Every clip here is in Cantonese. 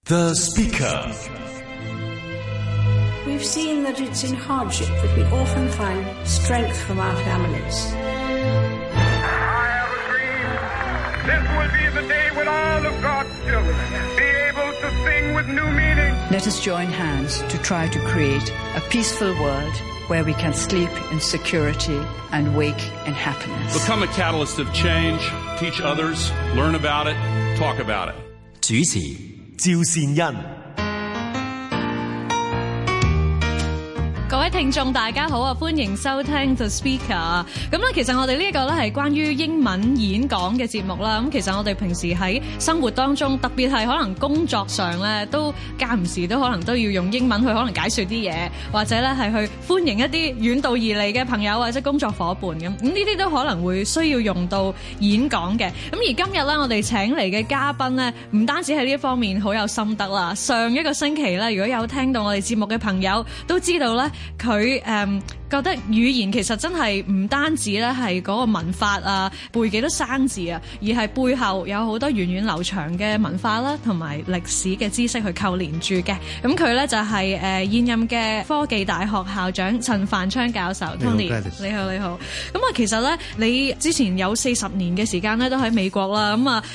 The Speaker. We've seen that it's in hardship that we often find strength from our families. I have a dream. This will be the day when all of God's children be able to sing with new meaning. Let us join hands to try to create a peaceful world where we can sleep in security and wake in happiness. Become a catalyst of change, teach others, learn about it, talk about it. 主持趙善恩。 各位聽眾大家好啊，歡迎收聽 The Speaker。咁咧，其實我哋呢一個咧係關於英文演講嘅節目啦。咁其實我哋平時喺生活當中，特別係可能工作上咧，都間唔時都可能都要用英文去可能解說啲嘢，或者咧係去歡迎一啲遠道而嚟嘅朋友或者工作伙伴咁。咁呢啲都可能會需要用到演講嘅。咁而今日咧，我哋請嚟嘅嘉賓咧，唔單止喺呢一方面好有心得啦。上一個星期咧，如果有聽到我哋節目嘅朋友都知道咧。佢覺得語言其實真係唔單止咧係嗰個文法啊，背幾多生字啊，而係背後有好多源遠流長嘅文化啦，同埋歷史嘅知識去扣連住嘅。咁佢咧就係現任嘅科技大學校長陳繁昌教授 Tony。你好，你好。咁啊，其實咧你之前有40年嘅時間咧都喺美國啦。咁啊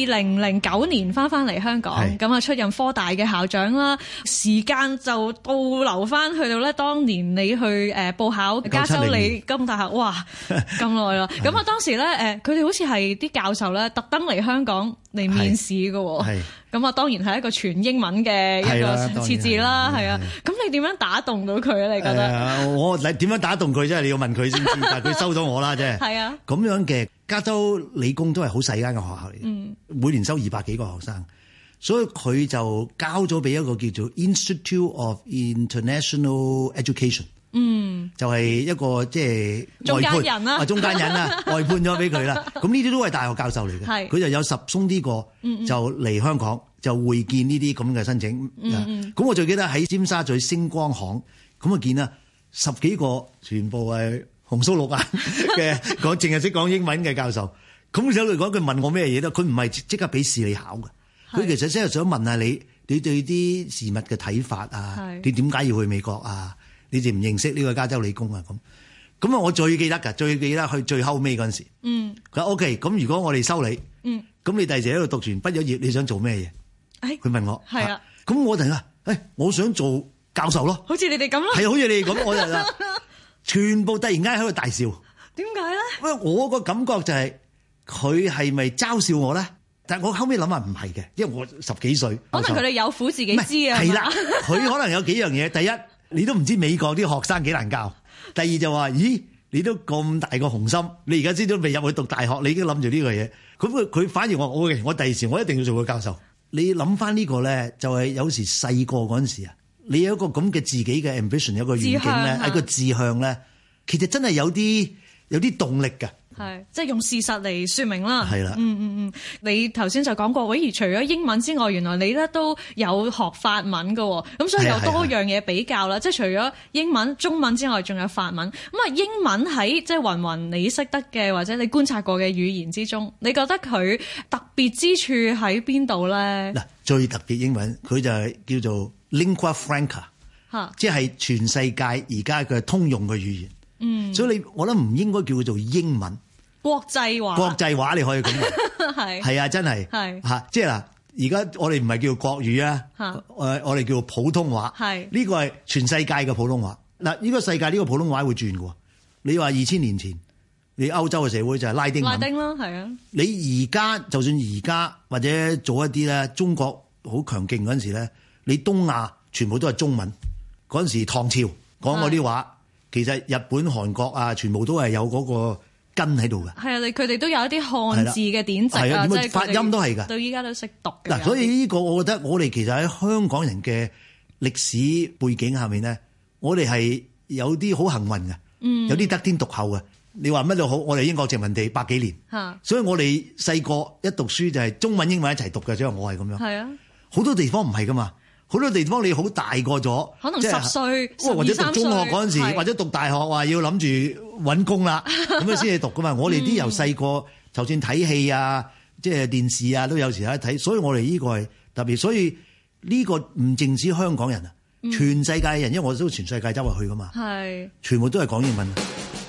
，2009年翻嚟香港，咁啊出任科大嘅校長啦。時間就倒流翻去到咧當年你去報考加州理工大學，哇咁耐啦！咁啊當時咧佢哋好似係啲教授咧特登嚟香港嚟面試㗎喎，咁啊當然係一個全英文嘅一個設置啦，係啊。咁你點樣打動到佢咧？你覺得？ 我點樣打動佢啫？你要問佢先知，但係佢收咗我啦啫。係啊，咁樣嘅加州理工都係好細間嘅學校嚟嘅，每年收200幾個學生。所以佢就交咗俾一個叫做 Institute of International Education， 就係一個即係中間人啦， 中間人啦，外判咗俾佢啦。咁呢啲都係大學教授嚟嘅，佢就有10鬆啲個就嚟香港就會見呢啲咁嘅申請。咁我最記得喺尖沙咀星光行咁啊見啦10幾個全部係紅鬚綠眼嘅講淨係識講英文嘅教授。咁相對嚟講，佢問我咩嘢咧？佢唔係即刻俾試你考嘅。佢其實真係想問下你對啲事物嘅睇法啊，你點解要去美國啊？你哋唔認識呢個加州理工啊？咁啊，我最記得去最後尾嗰陣時，佢話 OK， 咁如果我哋收你，咁你第時喺度讀完畢咗業，你想做咩嘢？佢問我，係啊，咁我突然間，我想做教授咯， 好似你哋咁咯， 係好似你哋咁，我就全部突然間喺度大笑， 點解咧？ 因為我個感覺就係佢係咪嘲笑我咧？但係我後尾諗下唔係嘅，因為我10幾歲， 可能佢哋有苦自己知啊。 係啦，佢可能有幾樣嘢。第一，你都唔知美國啲學生幾難教；第二就話，咦，你都咁大個雄心，你而家先都未入去讀大學，你已經諗住呢個嘢。咁佢反而我第時我一定要做個教授。你諗翻呢個咧，就係有時細個嗰陣時啊，你有一個咁嘅自己嘅 ambition， 有一個願景咧，一個志向咧，其實真係有啲動力㗎。 係，即係用事實嚟說明啦。 係啦， 你頭先就講過，而除咗英文之外，原來你咧都有學法文㗎，咁所以有多樣嘢比較啦。即係除咗英文、中文之外，仲有法文。咁啊，英文喺即係雲你識得嘅或者你觀察過嘅語言之中，你覺得佢特別之處喺邊度咧？ 嗱，最特別英文佢就係叫做 lingua franca， 即係全世界而家嘅通用嘅語言。所以我覺得唔應該叫佢做英文。 國際話你可以咁講，係啊，真係嚇，即係嗱，而家我哋唔係叫國語啊，我哋叫普通話，呢個係全世界嘅普通話。嗱，呢個世界呢個普通話會轉嘅。你話2000年前，你歐洲嘅社會就係拉丁文， 啦，係啊。 你而家就算而家或者做一啲咧，中國好強勁嗰陣時咧，你東亞全部都係中文。嗰陣時唐朝講嗰啲話，其實日本、韓國啊，全部都係有嗰個根喺度嘅。係啊， 佢哋都有一啲漢字嘅典籍啊， 即係發音都係㗎。 到依家都識讀嘅。 嗱，所以呢個我覺得我哋其實喺香港人嘅歷史背景下面咧，我哋係有啲好幸運嘅，有啲得天獨厚嘅。你話乜都好，我哋英國殖民地100幾年，所以我哋細個一讀書就係中文英文一齊讀嘅，所以我係咁樣。係啊，好多地方唔係㗎嘛。好多地方你好大個咗， 可能10歲、 或者讀中學嗰陣時，或者讀大學話要諗住揾工啦，咁樣先至讀噶嘛。我哋啲由細個，就算睇戲啊，即係電視啊，都有時喺睇，所以我哋呢個係特別。所以呢個唔淨止香港人啊，全世界人，因為我都全世界周圍去噶嘛，係全部都係講英文。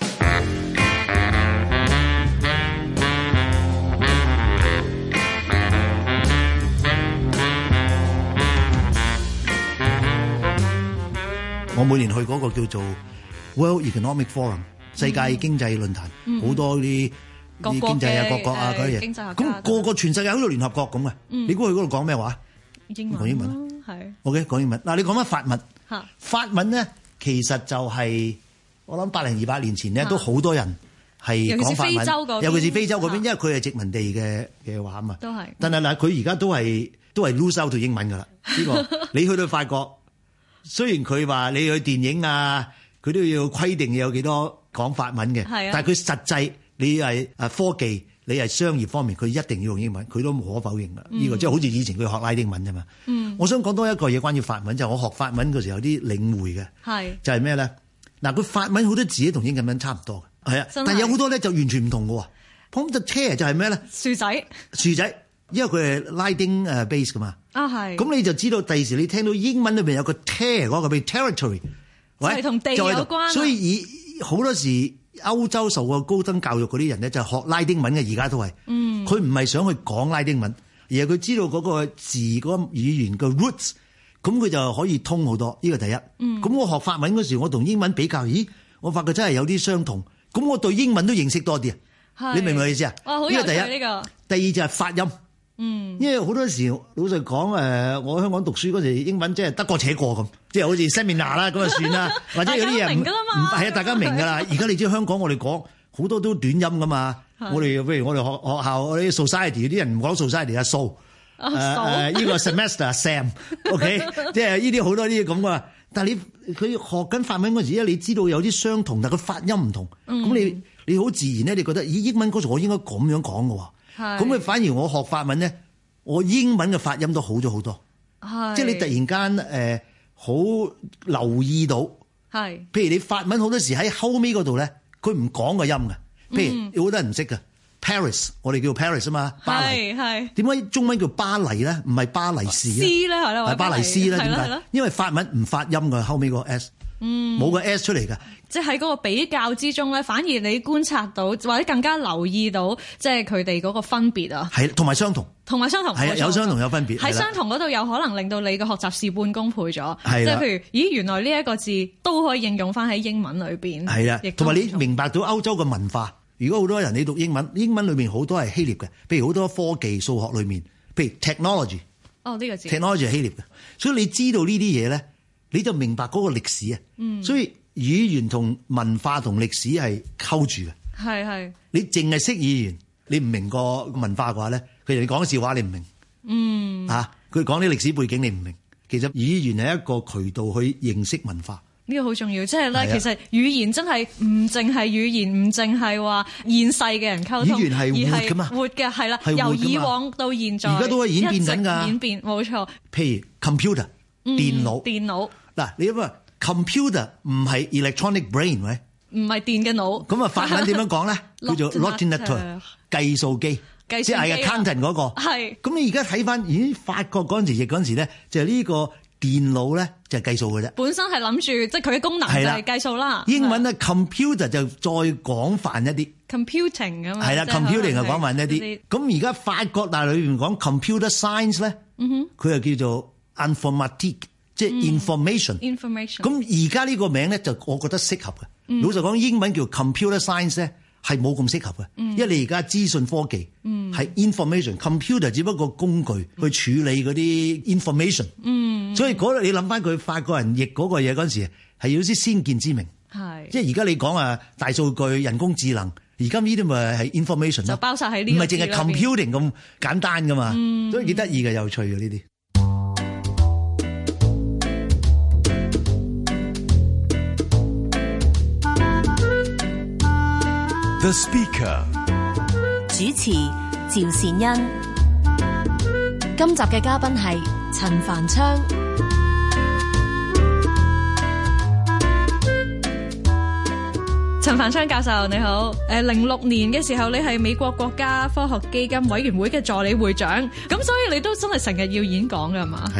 我每年去嗰個叫做 World Economic Forum 世界經濟論壇，好多啲經濟啊、各國啊嗰啲嘢，咁個個全世界好似聯合國咁嘅。你估佢嗰度講咩話？講英文係 OK 講英文。嗱，你講翻法文，法文咧其實就係我諗100-200年前咧都好多人係講法文，尤其是非洲嗰邊，因為佢係殖民地嘅話啊嘛。都係。但係嗱，佢而家都係 lose out 到英文㗎啦。呢個你去到法國。雖然佢話你去電影啊，佢都要規定有幾多講法文嘅，但係佢實際你係科技，你係商業方面，佢一定要用英文，佢都無可否認㗎。呢個即係好似以前佢學拉丁文啫嘛。我想講多一個嘢關於法文，就係我學法文嗰時候有啲領會嘅，就係咩咧？嗱，佢法文好多字同英文差唔多嘅，係啊，但係有好多咧就完全唔同嘅喎。咁就車就係咩咧？樹仔，因為佢係拉丁base 噶嘛。係。咁你就知道第時你聽到英文裏邊有個 ter 嗰個譬如 territory， 係同地有關。所以好多時歐洲受過高等教育嗰啲人咧，就學拉丁文嘅，而家都係。佢唔係想去講拉丁文，而係佢知道嗰個字嗰個語言嘅 roots， 咁佢就可以通好多。呢個第一。咁我學法文嗰時，我同英文比較，我發覺真係有啲相同。咁我對英文都認識多啲啊。你明唔明我意思啊？呢個第一。第二就係發音。因為好多時老實講，我喺香港讀書嗰時英文即係得過且過咁，即係好似 seminar 啦咁就算啦，或者有啲嘢唔係啊，大家明㗎啦。而家你知香港我哋講好多都短音㗎嘛，我哋譬如我哋學校我啲 society 啲人唔講 society 啊數，呢個 semester Sam，OK， 即係呢啲好多啲咁㗎。但係佢學緊法文嗰時咧，你知道有啲相同，但係佢發音唔同，咁你好自然咧，你覺得英文嗰時我應該咁樣講㗎喎。咁佢反而我學法文咧，我英文嘅發音都好咗好多，即係你突然間好留意到，譬如你法文好多時喺後尾嗰度咧，佢唔講個音嘅，譬如有好多人唔識嘅 Paris， 我哋叫 Paris 啊嘛，巴黎，點解中文叫巴黎咧？唔係巴黎市咧？係巴黎斯咧？點解？因為法文唔發音嘅後尾個 S。冇個 S 出嚟㗎， 即係喺嗰個比較之中咧，反而你觀察到或者更加留意到，即係佢哋嗰個分別啊。係，同埋相同，係有相同有分別。喺相同嗰度有可能令到你嘅學習事半功倍咗。係，即係譬如，咦，原來呢一個字都可以應用翻喺英文裏邊。係啊，同埋你明白到歐洲嘅文化。如果好多人你讀英文，英文裏面好多係希臘嘅，譬如好多科技、數學裏面，譬如 technology。呢個字 technology 係希臘嘅，所以你知道呢啲嘢咧。你就明白嗰個歷史啊，所以語言同文化同歷史係溝住嘅。係。你淨係識語言，你唔明個文化嘅話咧，佢哋講笑話你唔明。佢講啲歷史背景你唔明。其實語言係一個渠道去認識文化。呢個好重要，即係咧，其實語言真係唔淨係語言，唔淨係話現世嘅人溝通，語言係活㗎嘛，活嘅係啦，由以往到現在，而家都係演變緊㗎。演變冇錯。譬如 computer。電腦嗱，你諗下 computer 唔係 electronic brain 喂，唔係電嘅腦。咁啊，法文點樣講咧？叫做 ordinateur 計數機，即係 accountant 嗰個。係。咁你而家睇翻，法國嗰陣時譯嗰陣時咧，就係呢個電腦咧就係計數嘅啫。本身係諗住即係佢嘅功能就係計數啦。英文咧 computer 就再廣泛一啲 computing 咁。係啦 ，computing 就廣泛一啲。咁而家法國大陸裏邊講 computer science 咧，佢就叫做informatique 即係 information。咁而家呢個名咧就我覺得適合嘅。老實講，英文叫 computer science 咧係冇咁適合嘅，因為你而家資訊科技係 information，computer 只不過工具去處理嗰啲 information。所以嗰你諗翻佢法國人譯嗰個嘢嗰陣時係有啲先見之明。係，即係而家你講大數據、人工智能，而家呢啲咪係 information 就包晒喺呢，唔係淨係 computing 咁簡單噶嘛。所以幾得意嘅，有趣嘅呢啲。 The Speaker 主持趙善恩，今集嘅嘉賓係陳繁昌。 陳繁昌教授你好，06年嘅時候你係美國國家科學基金委員會嘅助理會長，咁所以你都真係成日要演講㗎嘛？ 係啊，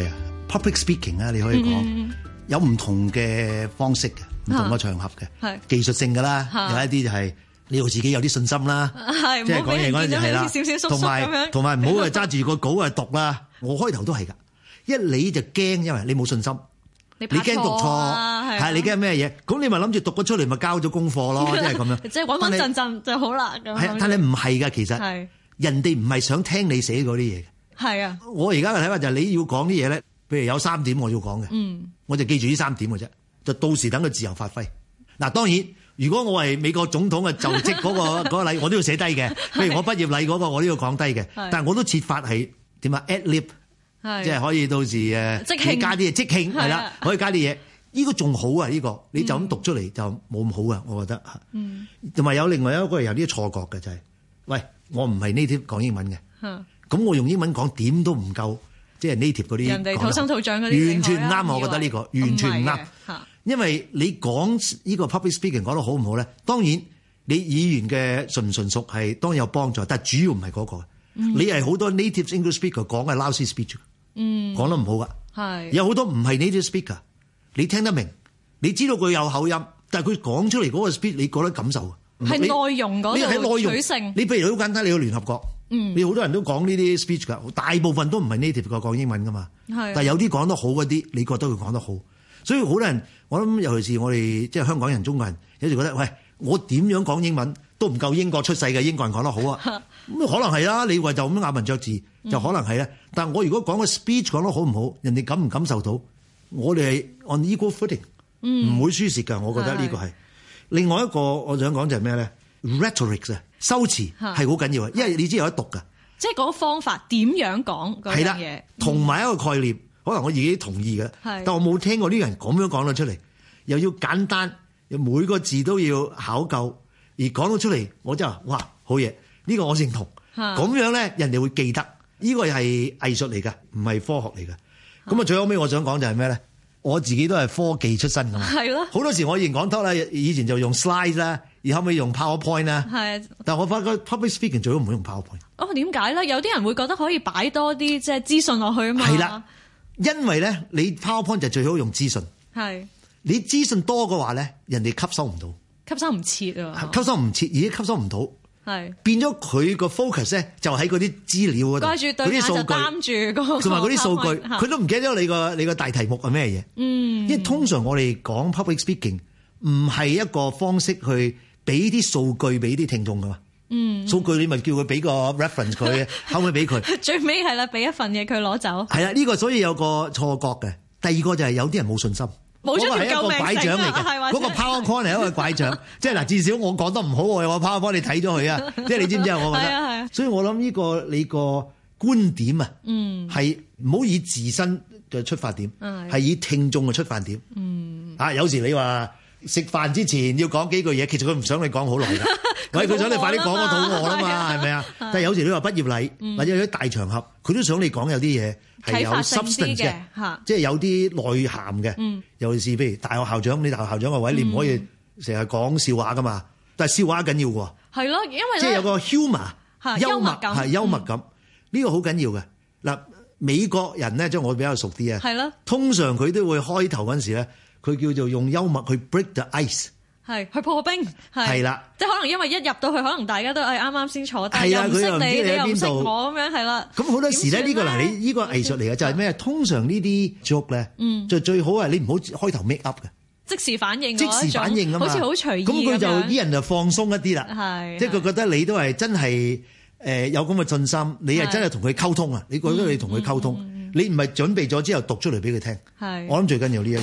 public speaking 啊，你可以講有唔同嘅方式嘅，唔同嘅場合嘅，技術性㗎啦，有一啲就係你要自己有啲信心啦，即係講嘢嗰陣時係啦，同埋唔好揸住個稿去讀啦。我開頭都係㗎，一你就驚，因為你冇信心，你驚讀錯，係你驚咩嘢？咁你咪諗住讀咗出嚟咪交咗功課咯，即係咁樣，即係穩穩陣陣就好啦。係，但係唔係㗎，其實人哋唔係想聽你寫嗰啲嘢嘅。係啊，我而家嘅睇法就係你要講啲嘢咧，譬如有3點我要講嘅，我就記住呢3點嘅啫，就到時等佢自由發揮。嗱，當然如果我係美國總統嘅就職嗰個禮，我都要寫低嘅。譬如我畢業禮嗰個，我都要講低嘅。但係我都設法係點啊 ad lib， 即係可以到時你加啲嘢即興係啦，可以加啲嘢。呢個仲好啊！呢個你就咁讀出嚟就冇咁好啊，我覺得。同埋有另外一個有啲錯覺嘅就係，喂，我唔係 native 講英文嘅。咁我用英文講點都唔夠，即係 native 嗰啲人哋土生土長嗰啲，完全唔啱。我覺得呢個完全唔啱，因為你講呢個 public speaking 講得好唔好咧？當然你語言嘅純唔純熟係當然有幫助，但係主要唔係嗰個。你係好多 native English speaker 講嘅 lousy speech， 講得唔好噶。係有好多唔係 native speaker， 你聽得明，你知道佢有口音，但係佢講出嚟嗰個 speech 你覺得感受係內容嗰度取勝。你譬如好簡單，你去聯合國。你好多人都講呢啲 speech 㗎，大部分都唔係 native 講英文㗎嘛。但係有啲講得好嗰啲，你覺得佢講得好，所以好多人我諗，尤其是我哋即係香港人、中國人，有時覺得喂，我點樣講英文都唔夠英國出世嘅英國人講得好啊。咁可能係啦，你話就咁咬文嚼字就可能係啦。但係我如果講個 speech 講得好唔好，人哋感唔感受到，我哋係 on equal footing，唔會輸蝕㗎。我覺得呢個係另外一個我想講就係咩咧 ？rhetoric 啊。修辭係好緊要啊，因為你知有得讀㗎，即係嗰個方法點樣講嗰樣嘢，同埋一個概念，可能我自己同意嘅，但我冇聽過呢個人咁樣講得出嚟，又要簡單，又每個字都要考究，而講到出嚟，我真係話哇好嘢，呢個我認同，咁樣咧人哋會記得，呢個係藝術嚟㗎，唔係科學嚟㗎。咁啊最後尾我想講就係咩咧？我自己都係科技出身㗎嘛，係咯，好多時我以前講 talk 啦，以前就用 slide 啦。而後尾用 PowerPoint 啦，係，但係我發覺 public speaking 最好唔好用 PowerPoint。哦，點解咧？有啲人會覺得可以擺多啲即係資訊落去啊嘛。係啦，因為咧你 PowerPoint 就最好用資訊。係，你資訊多嘅話咧，人哋吸收唔到，吸收唔切啊，吸收唔切，而家吸收唔到，係變咗佢個 focus 咧就喺嗰啲資料嗰度，嗰啲數據，同埋嗰啲數據，佢都唔記得咗你個大題目係咩嘢。因為通常我哋講 public speaking 唔係一個方式去。俾啲數據俾啲聽眾噶嘛，數據你咪叫佢俾個 reference 佢，後尾俾佢。最尾係啦，俾一份嘢佢攞走。係啦，呢個所以有個錯覺嘅。第二個就係有啲人冇信心，冇咗條救命繩。嗰個係一個拐杖嚟嘅，嗰個 PowerPoint 係一個拐杖，即係嗱，至少我講得唔好，我有個 PowerPoint 你睇咗佢啊，即係你知唔知啊？我覺得，係。所以我諗呢個你個觀點啊，係唔好以自身嘅出發點，係以聽眾嘅出發點。有時你話。食飯之前要講幾句嘢，其實佢唔想你講好耐㗎。喂，佢想你快啲講個肚餓啦嘛，係咪啊？但係有時你話畢業禮或者有啲大場合，佢都想你講有啲嘢係有 substance 嘅，即係有啲內涵嘅。尤其是譬如大學校長，你大學校長個位，你唔可以成日講笑話㗎嘛。但係笑話緊要喎。係咯，因為即係有個 humor 幽默感，係幽默感呢個好緊要嘅。嗱，美國人咧，即係我比較熟啲啊。係咯，通常佢都會開頭嗰陣時咧。佢叫做用幽默去 break the ice， 係去破冰，係啦，即係可能因為一入到去，可能大家都係啱啱先坐低，又唔識你，你又唔識我咁樣，係啦。咁好多時咧，呢個嗱，你呢個藝術嚟嘅就係咩？通常呢啲 joke 咧，就最好係你唔好開頭 make up 嘅，即時反應，即時反應啊嘛，好似好隨意咁。咁佢就啲人就放鬆一啲啦，係，即係佢覺得你都係真係有咁嘅信心，你係真係同佢溝通啊！你覺得你同佢溝通，你唔係準備咗之後讀出嚟俾佢聽，係，我諗最緊要呢一樣。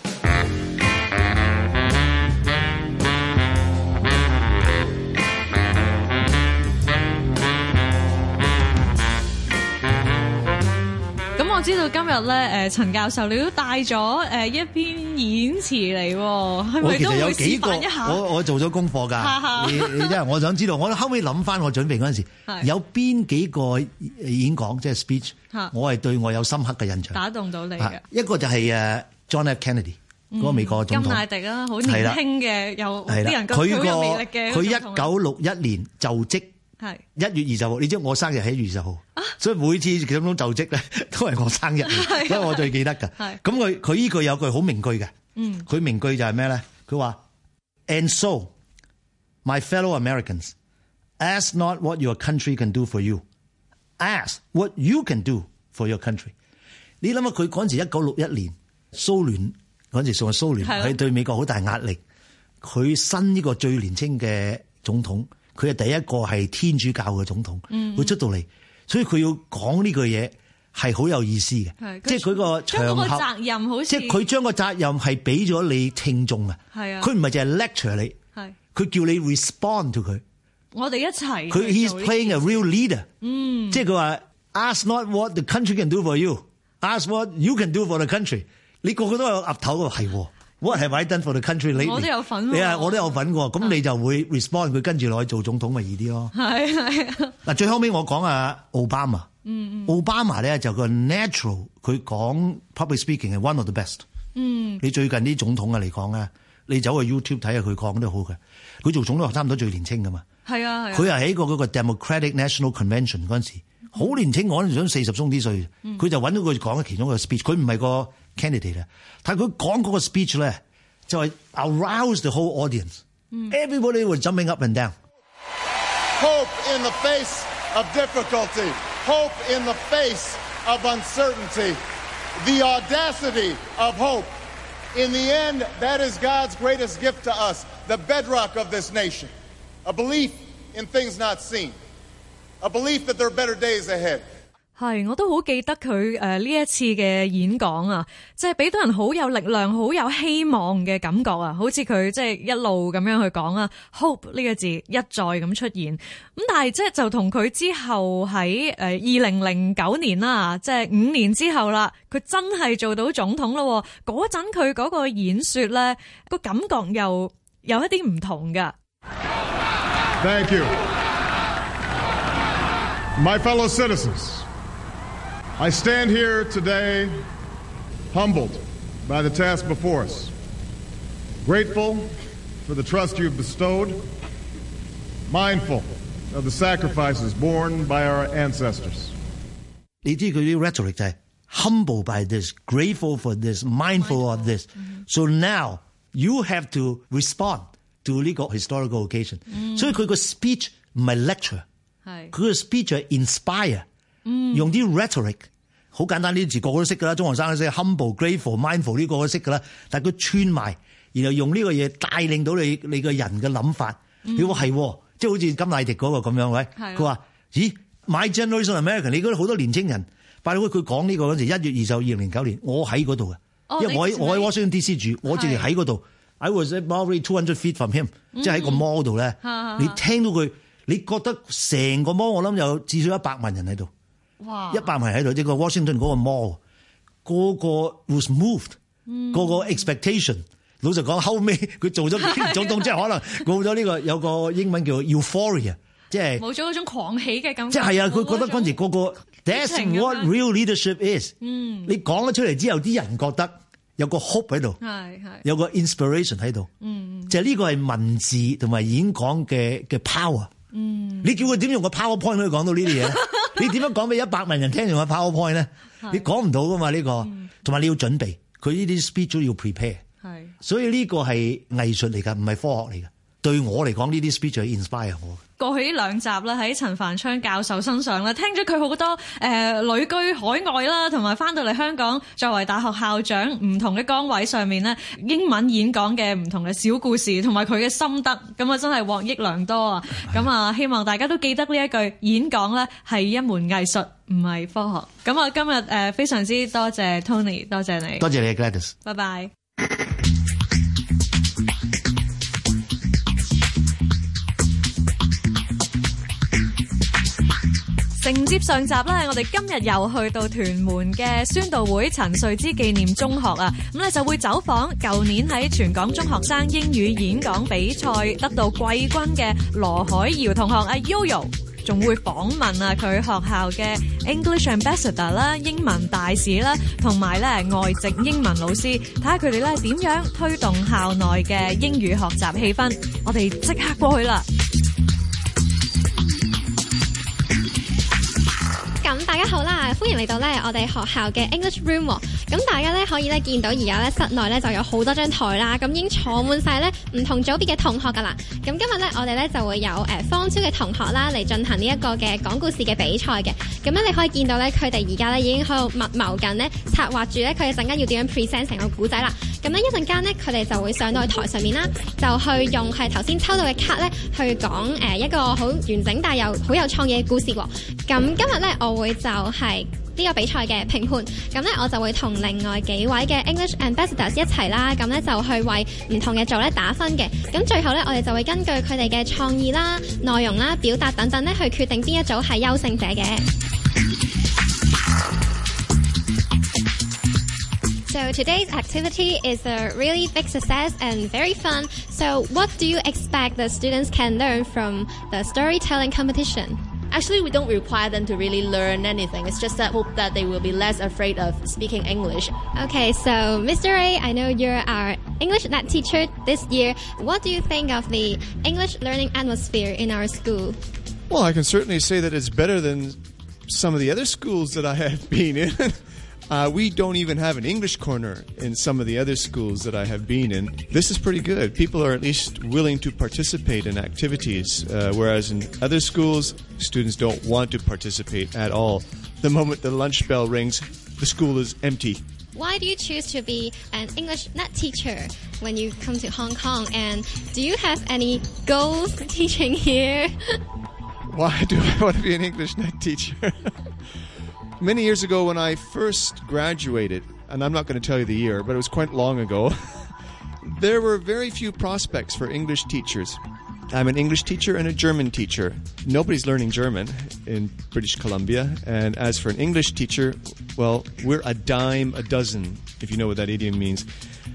我知道今日咧，陳教授你都帶咗一篇演詞嚟，係咪都會示範一下？我做咗功課㗎，你因為我想知道，我後尾諗翻我準備嗰陣時，有邊幾個演講即係 speech， 我係對我有深刻嘅印象，打動到你嘅。一個就係John F. Kennedy 嗰個美國總統，甘迺迪啦，好年輕嘅，有啲人覺得好有魅力嘅。佢1961年就職係 1月20號，你知我生日喺1月20號，所以每次總統就職咧都係我生日，所以我最記得㗎。咁佢呢句有句好名句嘅，佢名句就係咩咧？佢話 And so, my fellow Americans, ask not what your country can do for you, ask what you can do for your country。你諗下佢嗰陣時1961年蘇聯嗰陣時仲係蘇聯，係對美國好大壓力。佢新呢個最年輕嘅總統。佢係第一個係天主教嘅總統，佢出到嚟，所以佢要講呢句嘢係好有意思嘅，即係佢個場合責任好似，即係佢將個責任係俾咗你聽眾啊，佢唔係淨係 lecture 你，佢叫你 respond to 佢，我哋一齊，佢 he's playing a real leader，即係佢話 ask not what the country can do for you, ask what you can do for the country， 你個個都有岌頭嘅係。What have I done for the country lately？ 我都有份喎，我都有份喎。咁你就會 respond， 佢跟住落去做總統咪易啲咯。係。嗱，最後尾我講啊，奧巴馬。奧巴馬咧就個 natural， 佢講 public speaking 係 one of the best。你最近啲總統啊嚟講咧，你走去 YouTube 睇下佢講都好嘅。佢做總統差唔多最年青噶嘛。係啊。佢係喺嗰個 Democratic National Convention 嗰陣時，好年青，我嗰陣想40鬆啲歲，佢就揾到佢講嘅其中一個 speech， 佢唔係個candidate 啊，但係佢講嗰個 speech 咧，就係 arouse the whole audience。Everybody was jumping up and down. Hope in the face of difficulty. Hope in the face of uncertainty. The audacity of hope. In the end, that is God's greatest gift to us, the bedrock of this nation. A belief in things not seen. A belief that there are better days ahead. 係，我都好記得佢呢一次嘅演講啊，即係俾到人好有力量、好有希望嘅感覺啊，好似佢即係一路咁樣去講啊 ，hope 呢個字一再咁出現。咁但係即係就同佢之後喺2009年啦，即係5年之後啦，佢真係做到總統咯。嗰陣佢嗰個演說咧，個感覺又有一啲唔同㗎。 Thank you, my fellow citizens.I stand here today humbled by the task before us, grateful for the trust you have bestowed, mindful of the sacrifices borne by our ancestors. 你知佢啲 rhetoric 就係 humble by this, grateful for this, mindful of this. So now you have to respond to 呢個 historical occasion. 所以佢個 speech 唔係 lecture， 佢個 speech 係 inspire。用啲 rhetoric 好簡單，呢啲字個個都識㗎啦，中學生都識 humble、grateful、mindful 呢個都識㗎啦。但係佢串埋，然後用呢個嘢帶領到你個人嘅諗法。你話係，即係好似甘迺迪嗰個咁樣，喂，佢話：咦 ，My generation American， 你嗰啲好多年青人，拜佢講呢個嗰時1月20號2009年，我喺嗰度嘅，因為我喺 Washington DC 住，我直情喺嗰度 ，I was probably 200 feet from him，即係喺個 mall 度咧，你聽到佢，你覺得成個 mall 我諗有至少100萬人喺度。哇！100萬喺度，即係個 Washington 嗰個 mall， 個個 was moved， 個個 expectation。老實講，後尾佢做咗幾年總統，即係可能冇咗呢個有個英文叫 euphoria， 即係冇咗嗰種狂喜嘅感覺。即係啊，佢覺得嗰陣時個個 that's what real leadership is。你講咗出嚟之後，啲人覺得有個 hope 喺度，有個 inspiration 喺度。就係呢個係文字同埋演講嘅 power。你叫佢點用個 PowerPoint 可以講到呢啲嘢咧？你點樣講俾100萬人聽用個 PowerPoint 咧？你講唔到噶嘛呢個，同埋你要準備，佢呢啲 speech 都要 prepare。所以呢個係藝術嚟㗎，唔係科學嚟㗎。對我嚟講，呢啲 speech 係 inspire 我。過去呢2集啦，喺陳繁昌教授身上咧，聽咗佢好多旅居海外啦，同埋翻到嚟香港作為大學校長唔同嘅崗位上面咧，英文演講嘅唔同嘅小故事，同埋佢嘅心得，咁啊真係獲益良多啊！咁啊，希望大家都記得呢一句演講咧係一門藝術，唔係科學。咁啊，今日非常之多謝 Tony， 多謝你，多謝你 Gladys， 拜拜。承接上集咧，我哋今日又去到屯門嘅宣道會陳瑞之紀念中學啊，咁咧就會走訪舊年喺全港中學生英語演講比賽得到季軍嘅羅海瑤同學阿 Yoyo， 仲會訪問啊佢學校嘅 English Ambassador 啦、英文大使啦，同埋咧外籍英文老師，睇下佢哋咧點樣推動校內嘅英語學習氣氛。我哋即刻過去啦！ 好啦，歡迎嚟到咧我哋學校嘅 English Room。咁大家咧可以咧見到而家咧室內咧就有好多張台啦，咁已經坐滿晒咧唔同組別嘅同學噶啦。咁今日咧我哋咧就會有方超嘅同學啦嚟進行呢一個嘅講故事嘅比賽嘅。咁咧你可以見到咧佢哋而家咧已經喺度密謀緊咧策劃住咧佢哋陣間要點樣 present 成個故仔啦。咁咧一陣間咧佢哋就會上到去台上面啦，就去用係頭先抽到嘅卡咧去講一個好完整但又好有創意嘅故事喎。咁今日咧我會就係呢個比賽嘅評判，咁咧我就會同另外幾位嘅 English Ambassadors 一齊啦，咁咧就去為唔同嘅組咧打分嘅。咁最後咧我哋就會根據佢哋嘅創意啦、內容啦、表達等等咧去決定邊一組係優勝者嘅。So today's activity is a really big success and very fun. So what do you expect the students can learn from the storytelling competition? Actually, we don't require them to really learn anything. It's just that hope that they will be less afraid of speaking English. Okay, so Mr. A, I know you're our English Net teacher this year. What do you think of the English learning atmosphere in our school? Well, I can certainly say that it's better than some of the other schools that I have been in. We don't even have an English corner in some of the other schools that I have been in. This is pretty good. People are at least willing to participate in activities, whereas in other schools, students don't want to participate at all. The moment the lunch bell rings, the school is empty. Why do you choose to be an English Net teacher when you come to Hong Kong? And do you have any goals teaching here? Why do I want to be an English Net teacher? Many years ago when I first graduated, and I'm not going to tell you the year, but it was quite long ago, there were very few prospects for English teachers. I'm an English teacher and a German teacher. Nobody's learning German in British Columbia. And as for an English teacher, well, we're a dime a dozen, if you know what that idiom means.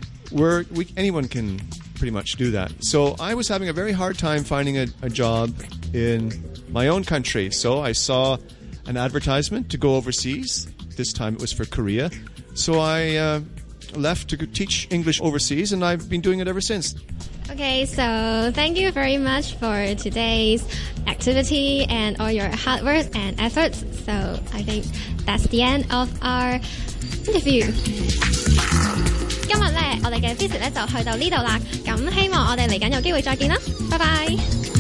Anyone can pretty much do that. So I was having a very hard time finding a job in my own country. So I saw an advertisement to go overseas. This time it was for Korea. So I left to teach English overseas, and I've been doing it ever since. Okay, so thank you very much for today's activity and all your hard work and efforts. So I think that's the end of our interview. 今日咧，我哋嘅 visit 咧就去到呢度啦。咁希望我哋嚟緊有機會再見啦。拜拜。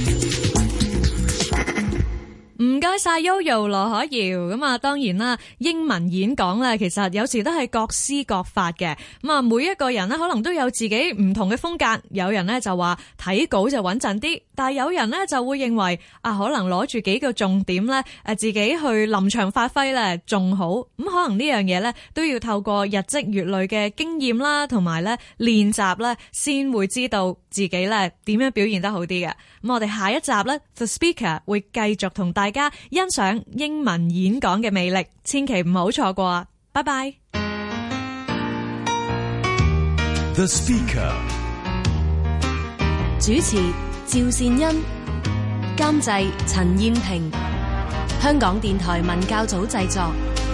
唔該晒 Yoyo 羅可瑤。咁啊，當然啦，英文演講咧，其實有時都係各施各法嘅。咁啊，每一個人咧可能都有自己唔同嘅風格。有人咧就話睇稿就穩陣啲，但係有人咧就會認為啊，可能攞住幾個重點咧，自己去臨場發揮咧仲好。咁可能呢樣嘢咧都要透過日積月累嘅經驗啦，同埋咧練習咧，先會知道自己咧點樣表現得好啲嘅。咁我哋下一集咧 The Speaker 會繼續同大家欣賞英文演講嘅魅力，千祈唔好錯過啊！拜拜。 The Speaker 主持趙善恩，監製陳燕萍，香港電台文教組製作。